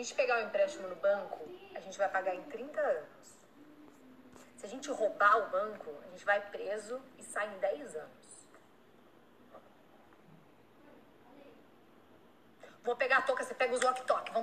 gente pegar o empréstimo no banco, a gente vai pagar em 30 anos. Se a gente roubar o banco, a gente vai preso e sai em 10 anos. Vou pegar a touca, você pega os walkie-talkie.